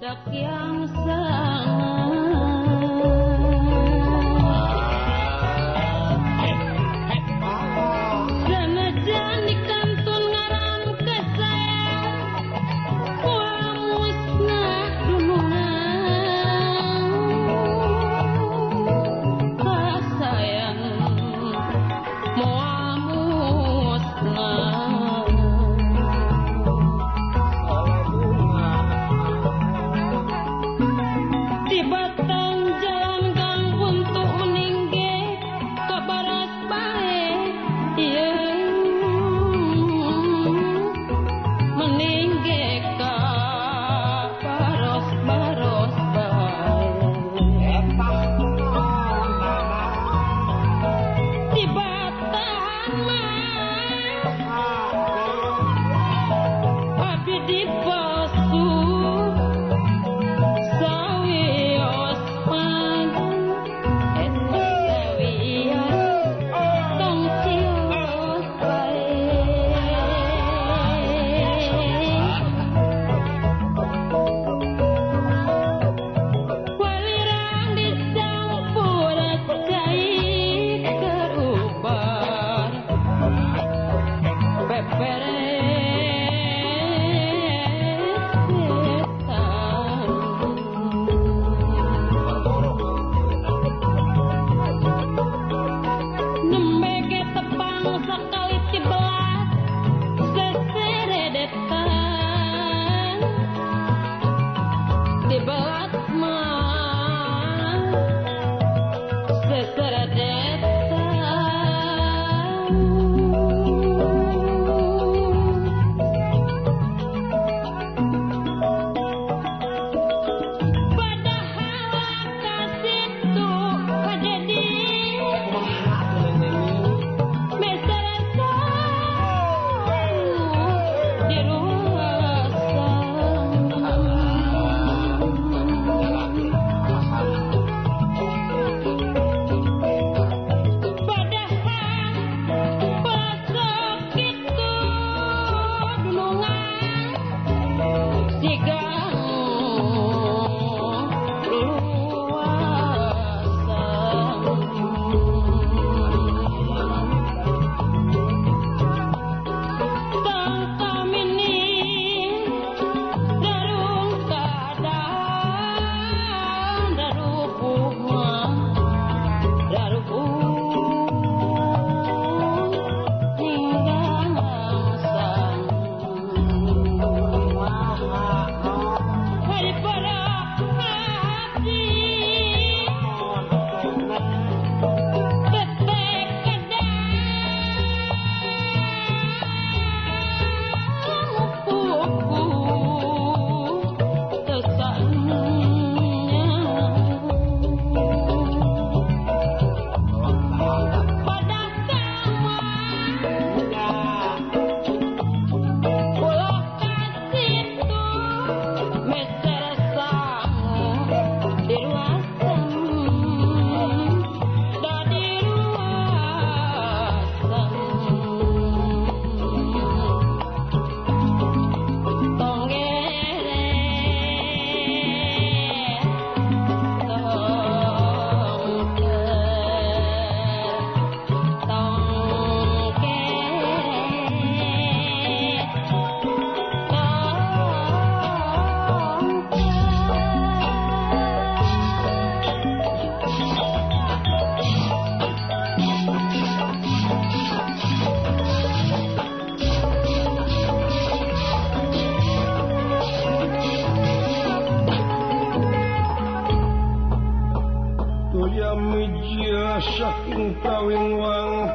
saking kawin wang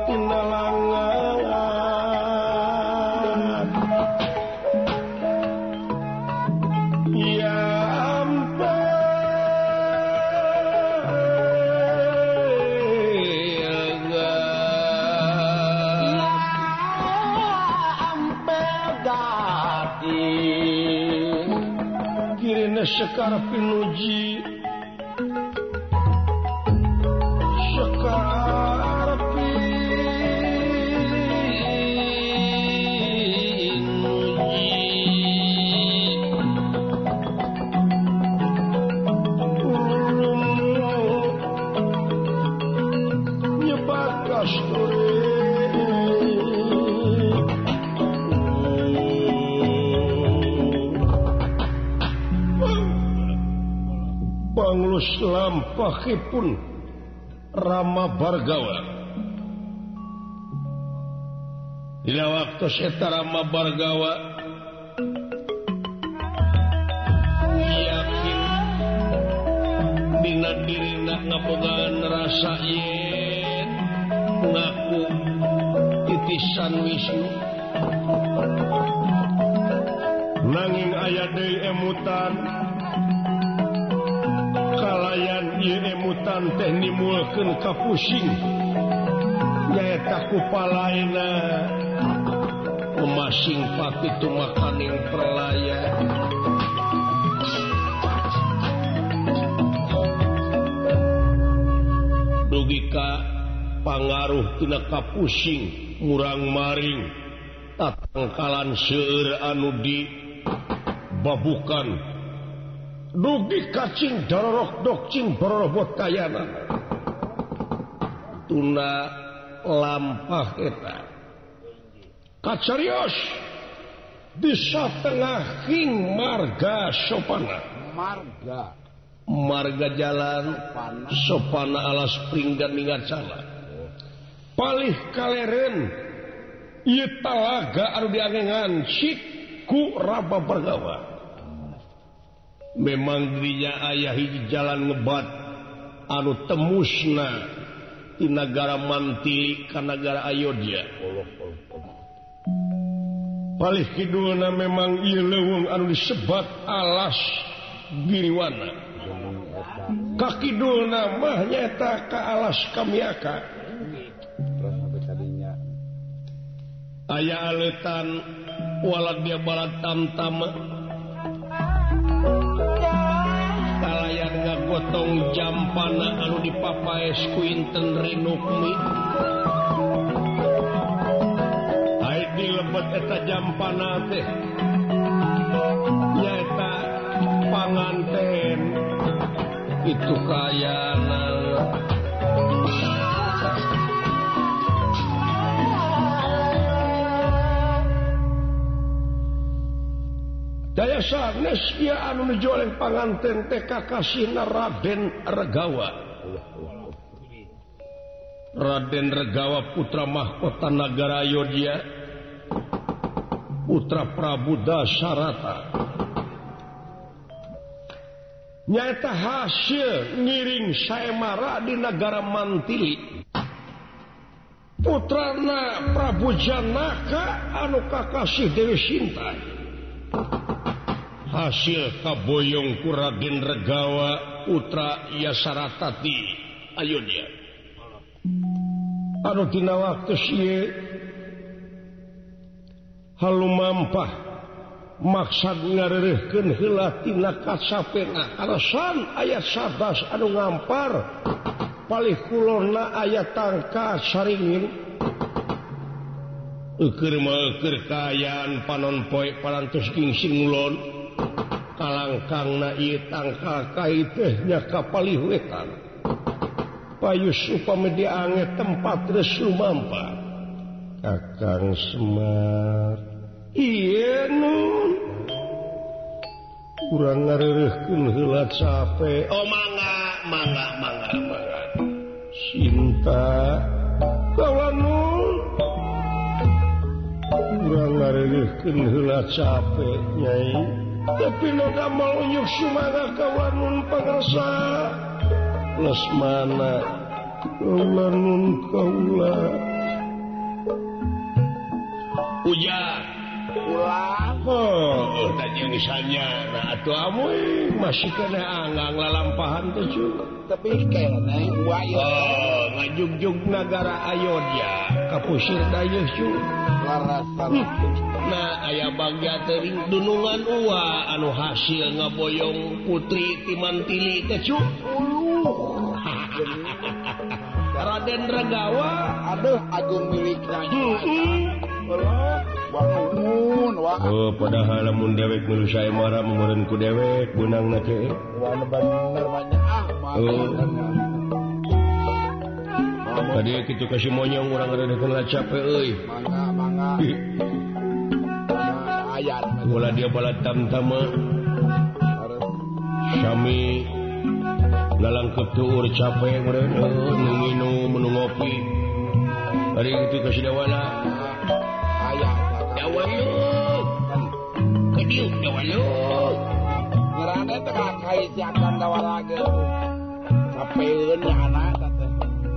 pinalangan ya ampe sekar pinuji sekar pinuji panglus lampahipun Rama Bargawa. Dina waktu eta Rama Bargawa yakin dina dirina ngabogaan rasa yen ngaku titisan Wisnu nanging aya deui emutan kalayan ieu emutan teh nimulkeun kapusing nyaeta kupalaena memasing pakitu makaning perlaya dugi ka pangaruh tina kapusing murang maring tatangkalan seueur anu di babukan dugi kacing dororok dokcing borobot kayana tuna lampah eta kacarios di satengahing marga sopana marga jalan sopana alas pringgan ningatsana palih kaleren ieu talaga anu diangengan cik ku Rama Bargawa. Memang dirinya aya hiji jalan ngebat anu temusna di negara Mantili ka negara Ayodya. Palih kidulna memang ieu leuweung anu disebat alas Giriwana. Ka kidulna mah nyaeta ka alas Kamiaka. Aya aleutan walad dia balad tamtama kalayan ngagotong jampana anu dipapaes ku inten Renukmi aya dilebet eta jampana teh nyaeta panganten itu kayana daya sanes ia anu nujoleng panganten teh kakasihna Raden Regawa. Raden Regawa putra mahkota nagara Ayodya, putra Prabu Dasarata. Nyaeta hasil ngiring saemara di negara Mantili. Putrana Prabu Janaka anu kakasih Dewi Sinta. Hasil kaboyong ku Raden Regawa putra Yasaratati Ayodya anu tina waktu ieu halumampah maksad ngareureuhkeun heula tina kacapena alasan aya 11 anu ngampar palih kulonna aya tangka saringin eukeur mah eukeur kaayaan panon poe parantos gingsing ulon kalangkangna ieu tangkal kai teh nya kapalih wetan payus upami diange tempat geus lumampa Kakang Semar ieu nun urang ngareureuhkeun heula cape oh mangga Sinta kawan nun urang ngareureuhkeun heula cape Nyai tapi noda mau unyuk sumaga kawanun pangersa Lesmana kawanun kaula ujar ulah tadi misalnya nah atuh amoy masih kena anggang lalampahan teh cu tapi kayaknya wayo ngajugjug negara Ayodya kapusir dayeuh cu larasan nah aya bagja teuing dunungan uwa anu hasil ngaboyong putri ti Mantili teh cu Raden Regawa aduh agung milikna padahal lamun dewek nu sae marah meureun ku dewek beunangna teh bener banyak tadi kitu kasih monyong urang ngareureukeun lacape euy mangga ayat ulah dia balad tamtama sami lalangkep tuur capek minum ngopi hari itu kasih dawala dawayuk kediuk dawayuk ngerane tengah kai siakan dawala ge capeun anak teh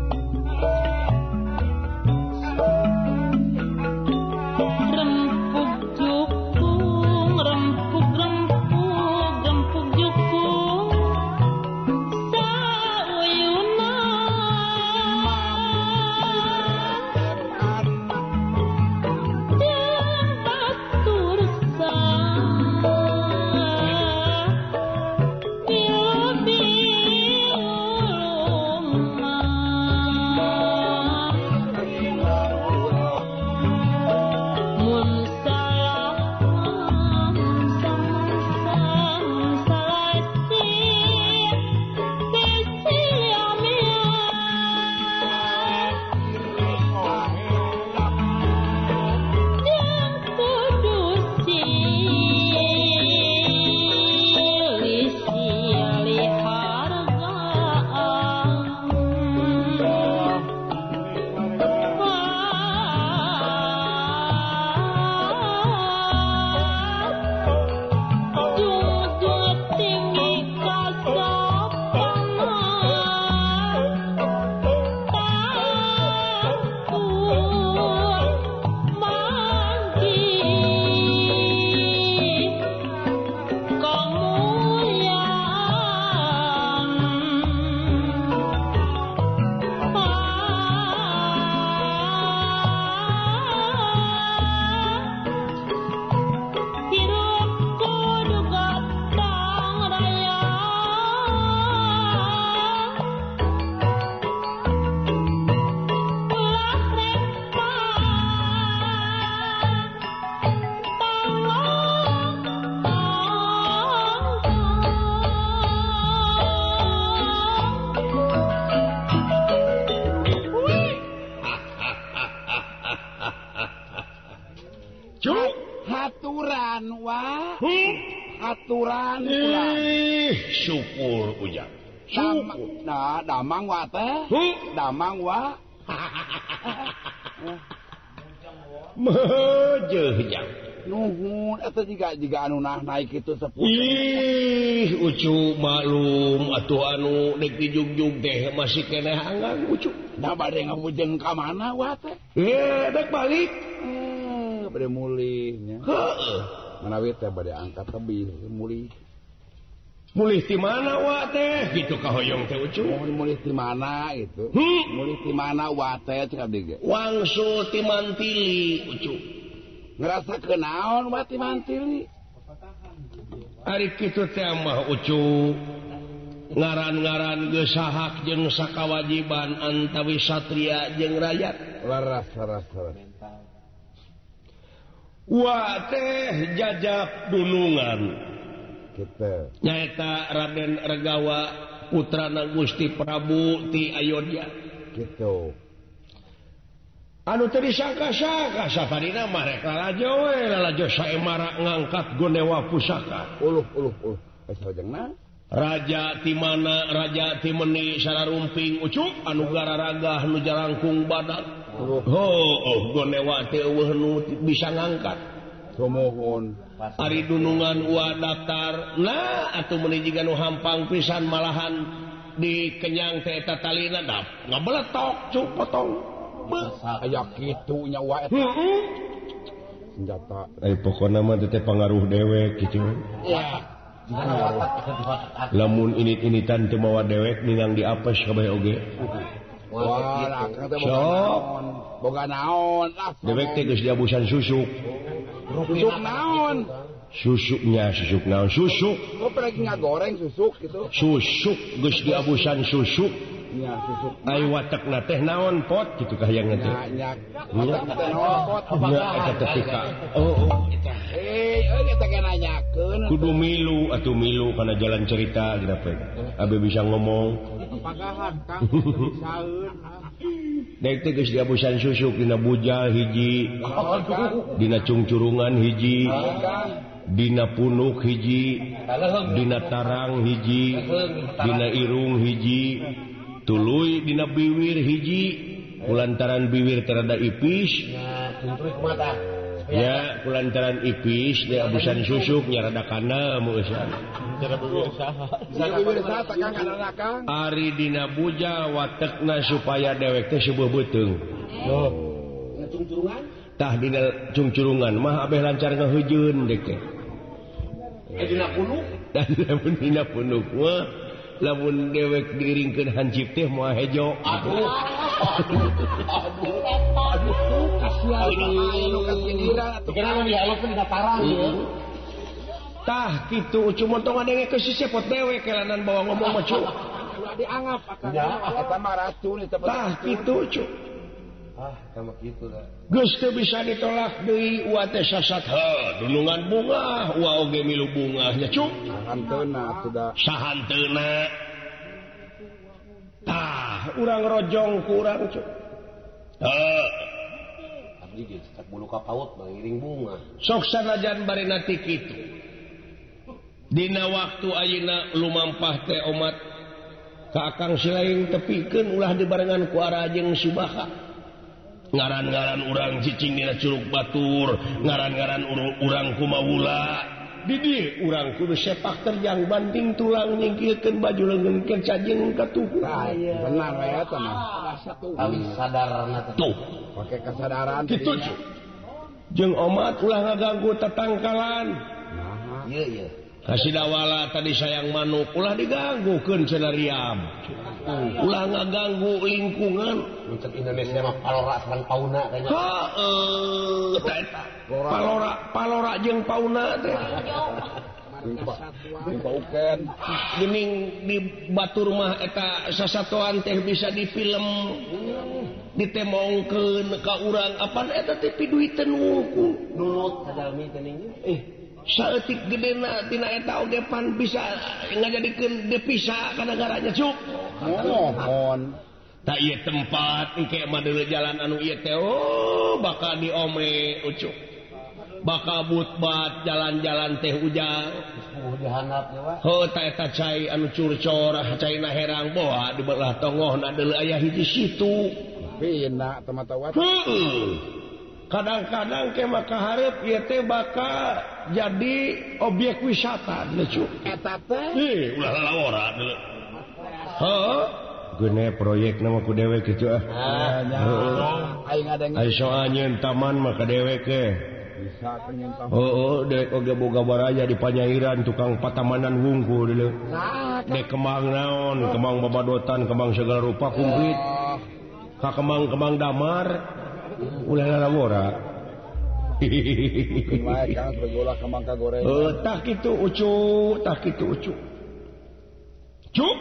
aturan syukur ujang damang wa teh damang wa meujeul jang nuhun eta jiga anu naik kitu sepuh ih ucu maklum atuh anu dek dijug-jug teh masih keneh anggang ucu da bade ngabujeng ka mana wa teh dek balik bade mulih nya heeh manawi teh bade angkat tebih mulih ti mana wa teh gitu ka hoyong teh ucu mulih ti mana gitu mulih ti mana wa teh cek abdi ge wangsul ti mantili ucu ngerasa kenaon wa ti mantili ari kitu teh mah ucu ngaran-ngaran geus sahak jeung sakawajiban antawi satria jeung rakyat laras wa teh jajak dunungan kita nyaeta Raden Regawa putrana Gusti Prabu ti Ayodya gitu anu teu disangka-sangka saparina mah rek lalajo saemara ngangkat gonewa pusaka uluh sajenna raja ti mana raja ti meuni sararumping ucuk anu gararagah nu jalangkung badan gonewa teh eueuh nu bisa ngangkat sumohun ari dunungan wa daftar nah atuh meuni jiga nu hampang pisan malahan dikenyang teh eta talina dap ngabeletok cuk potong aya kitu nya wa eta senjata pokona mah teh pangaruh dewek kitu ya lamun init-initan teu mawa dewek ningang diapes kabeh oge wah boga naon dewek teh geus diabusan susuk naon susuk naon susuk kok lagi ngagoreng susuk gitu susuk geus diabusan susuk nya susuk ai watekna teh naon pot kitu kahayangna teh nya watek teh naon pot eta ketika eta eta kana nanyakeun kudu milu atuh milu kana jalan cerita gina pe abe bisa ngomong pagahan Kang saeun Dek teh geus diabusan susuk dina bujal hiji. Dina cungcurungan hiji. Dina punuk hiji. Dina tarang hiji. Dina irung hiji. Tuluy dina biwir hiji. Kulantaran biwir terada ipis. Ya, kulantaran ipis dia abusan susuk nya rada kana meusan. Ari dina buja watekna supaya dewek teh sebuah beuteung. Tah dina cungcurungan mah abeh lancar ngaheujeun dek teh. Dina punuk? Dina punuk mah lamun dewek diringkeun hancip teh moal hejo. Aduh. Tah kitu ucu montong ngadenge ke si sepot dewe kelanan bawa ngomong mah cu. Dianggap eta mah racun eta. Tah kitu ucu. Sama kitu da. Geus teu bisa ditolak deui ua teh sasat dunungan bunga ua oge milu bunga nya cu. Sahanteuna atuh sahanteuna. Tah urang rojong ku urang cu. Abdi geus tak bulu ka paut mengiring bunga. Sok sanajan barena ti kitu. Dina waktu ayeuna lumampah teh omat ka akang silaing tepikeun ulah dibarengan ku Ara jeung Subaha. Ngaran-ngaran urang cicing dina Curug Batur, ngaran-ngaran urang kumaula. Di dieu urang kudu sepak terjang banting tulang nyingkirkeun baju leungeun ke cajing ka tubuh. Benar we eta mah. Tawi sadarna tuh. Pake kesadaran kitu. Jeung omat ulah ngaganggu tetangkalan. Nah, ieu. Kasidawala tadi sayang manuk ulah diganggukeun cenah Riam. Ulah ngaganggu lingkungan. Untuk Indonesia mah palora sareng pauna kayaknya. Heeh, eta. Palora jeung pauna teh. Paukeun. Geuning di batur mah eta sasatoan teh bisa difilm. Ditemongkeun ka urang apaan eta teh piduiteun wungkul. Nulut sadalmi teh ning. Saeutik gedena tina eta oge pan bisa ngajadikeun devisa ka negaranya cuk. Mohon. Da ieu tempat engke mah deuleu jalan anu ieu teh bakal diome ucuk. Bakal butbat jalan-jalan teh ujang. Dihandap ya wa. Heuh ta eta cai anu curcor caina herang boa di belah tongohna deuleu aya hiji situ. Pina teh mata wat. Kadang-kadang ke maka hareup ieu teh bakal jadi objek wisata lucu. Eta teh ulah lalawara deuleu. Heuh, geune proyekna mah ku dewek kitu ah. Aing ngadenge. Ai soal nyeun taman mah ka dewek ke. Bisa nyeun taman. Heuh, dewek oge boga baraya di Panyairan tukang patamanan wungkul deuleu. Dek kembang naon, kembang babadotan, kembang segala rupa kumplit. Ka kembang-kembang damar. Ulah lalawara. Kumaha kang segolah kembang kagoreng. Tah kitu ucu. Cuk.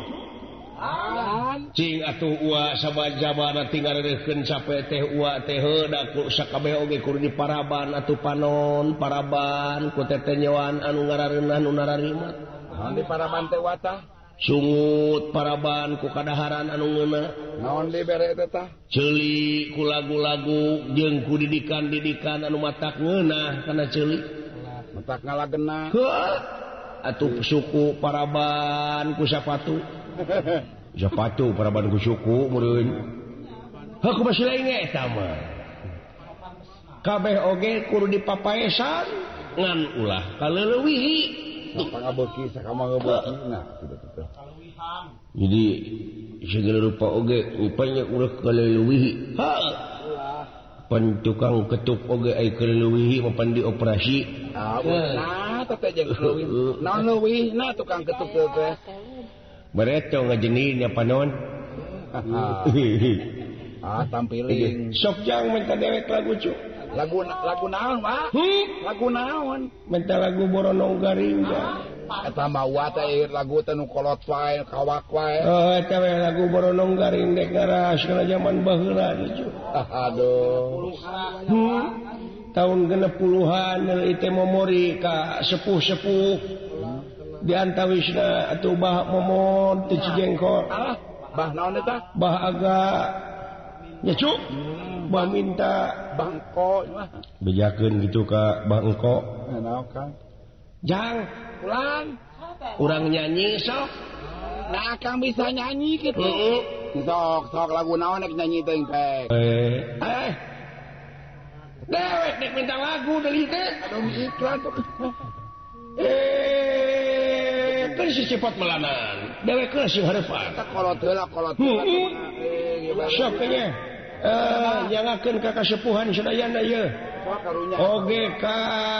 Cing atuh ua sabajabana tinggal reukeun cape teh ua teh da ku sakabeh oge kudu diparaban atuh panon paraban ku teteh nyewaan anu ngarareunah nu nararimat. Naon diparaban teh watah? Sungut paraban ku kadaharan anu ngeuna. Naon dibere eta tah? Ceuli ku lagu-lagu jeung ku didikan-didikan anu matak ngeunah kana ceuli. Matak ngalageuna. Heuh. Atuh suku paraban ku sapatu. Sapatu paraban ku suku meureun. Heuh ku basi lain eta mah. Kabeh oge kudu dipapaesan ngan ulah kaleulewihi. Pangabeuki sakama ngabeuki nah kitu. Jadi segala rupa oge upanya urang kaleulewihi. Heuh. Pan tukang ketuk oge ai kaleulewihi mapan dioperasi. Nah, teh jeung leuwih. Naon leuwihna tukang ketuk teh? Bareto ngajenin nya panon. Tampiling. Sok jang minta dewek lagu cuk. Lagu naon, Pak? Lagu naon? Minta lagu Boronong Garing. Eta mah teh lagu teh nu kolot wae, kawak wae. Oh, eta we lagu Boronong Garing dek ngaras kana zaman baheula cuk. Aduh. Tahun 60-an deui teh memori ka sepuh-sepuh. Di antawisna atuh bah momon teu Cijengkol. Bah naon eta? Bah aga nya cuk bah minta bangko bejakeun gitu ka bangko naon Kang jang ulang urang nyanyi sok nah Kang bisa nyanyi gitu sok lagu naon nek nyanyi teh pek dewek nek minta lagu dari teh aduh iklan tuh kan si cepat melanan dewek ke si hareupan kita kolot heula sok nya nyangakeun ka kasepuhan sadayana ye oge ka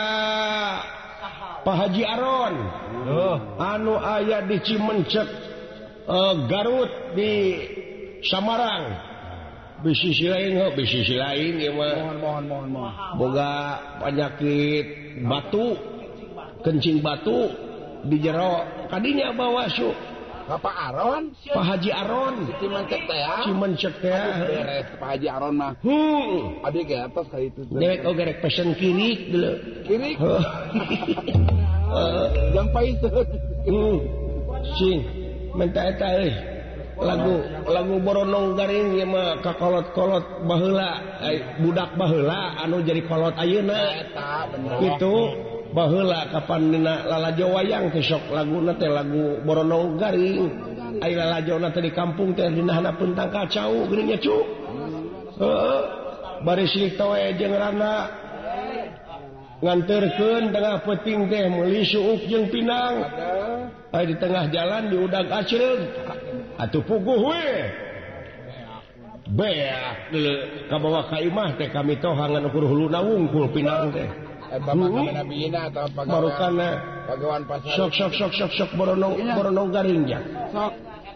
Pak Haji Aron anu aya di Cimencek Garut di Samarang bisi lain ya mah mohon boga penyakit batu kencing batu di jero kadinya bawa su Pak Aron Pak Haji Aron Cimencek teh beres Pak Haji Aron mah abi ke atas ka itu dewek oge rek pesen kirik dulu kirik yang paiseun sing menta eta euy lagu boronong garing ieu mah kakolot-kolot baheula budak baheula anu jadi kolot ayeuna eta bener kitu baheula kapan dina lalajo wayang teh sok laguna teh lagu boronong garing ai lalajona teh di kampung teh dina hanapeun tang kacau geuning nya cu bari silik toe jeung rana nganterkeun tengah peuting teh meuli suuk jeung pinang ai di tengah jalan diudag acreug atuh puguh we beak deuleu ka bawah ka imah teh kami tohangan ukur huluna wungkul pinang teh Nabina atau pagawan pasar sok boronong garing ya sok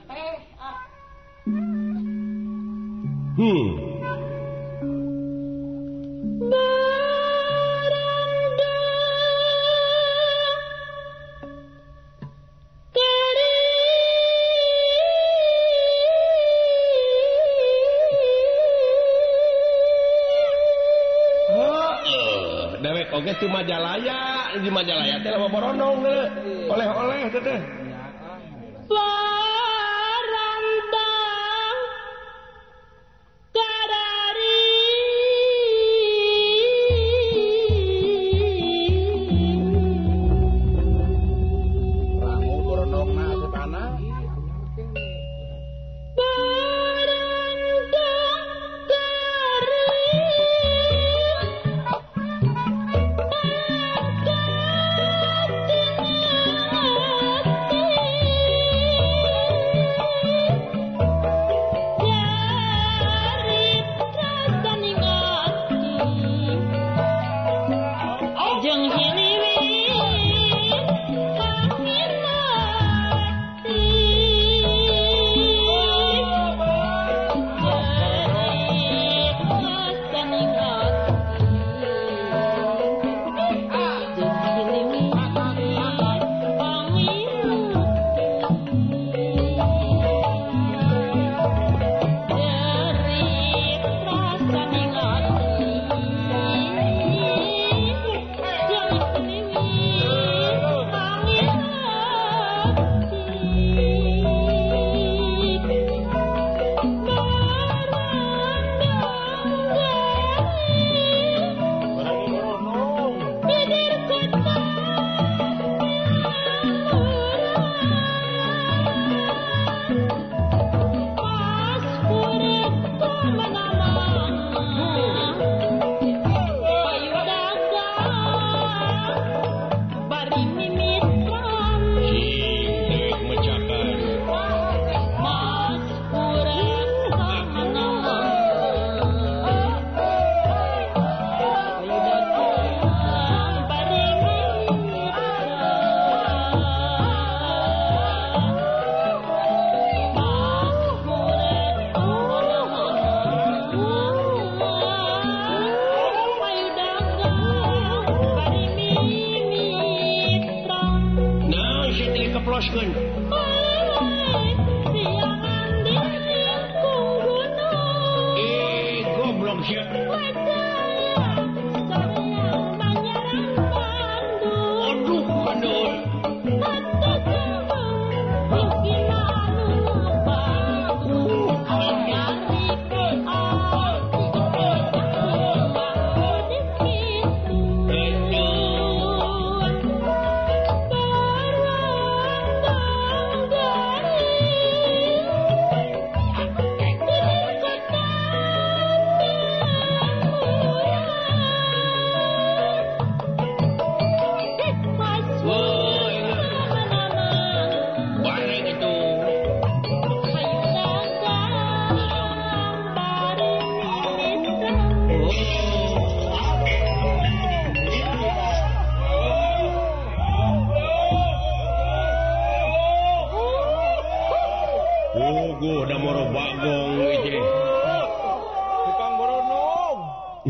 oke di Majalaya teh lawa boronong oleh-oleh teh Barantang kadari rangu boronong na setana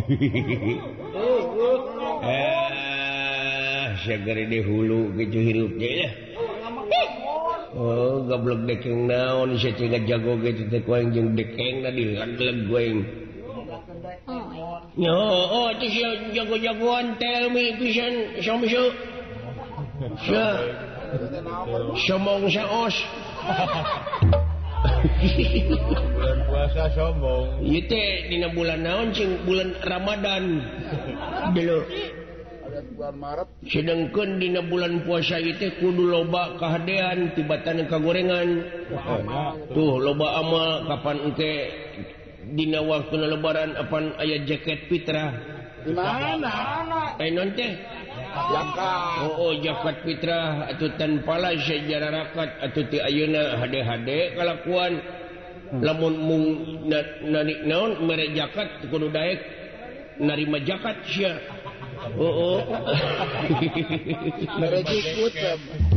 Segar di hulu gitu hirupnya ya. Oh, goblok dekeng naon saya cengat jago gitu teh kuing jeung dekeng na dilegleg kuing. Yo, oh itu si jago-jagoan tell me pisan somso. Sombong saos. Bulan puasa sombong. Ieu teh dina bulan naon cing bulan Ramadan. Dulu bulan Maret sedangkeun dina bulan puasa ieu teh kudu loba kahadean tibatan kagorengan. Tuh loba amal kapan engke dina waktuna lebaran apan aya jaket fitrah. Di mana? Non teh Zakat. Oh, zakat fitrah atuh tanpa la sejarah rakat atuh ti ayeuna hade-hade kalakuan. Lamun mung naon mere zakat kudu daek narima zakat sia. Oh. Mere jikut.